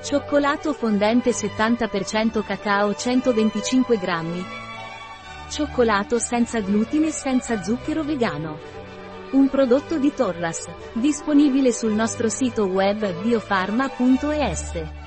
Cioccolato fondente 70% cacao 125 grammi. Cioccolato senza glutine e senza zucchero vegano. Un prodotto di Torras, disponibile sul nostro sito web biofarma.es.